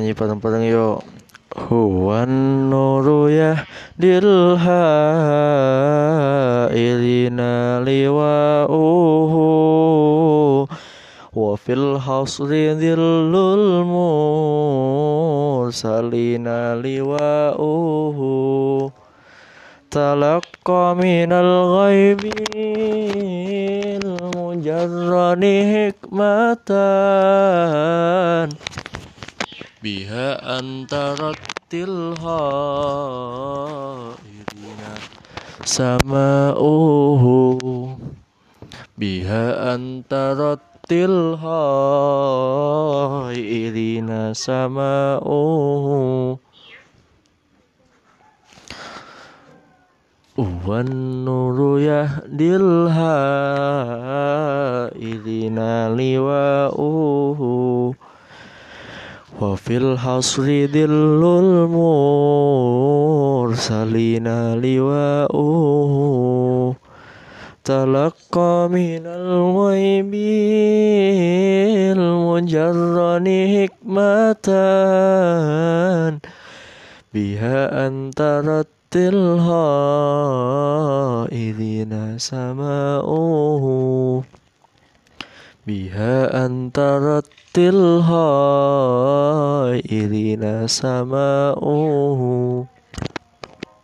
Nyanyi bareng-bareng yuk. Huwan nuru yahdil hailina liwa'uhu wa fil hasri dhillul mursalina liwa'uhu talaqqa minal ghaibil mujarrani hikmatan biha antarat tilhairina sama'uhu biha antarat tilhairina sama'uhu wan nuru yahdil hailina liwa'uhu wa fil hasri dhillul mursalina liwa'uhu talaqqa minal ghaibil mujarrani hikmatan biha antarat tilhairina sama'uhu biha antarat tilhairina sama'uhu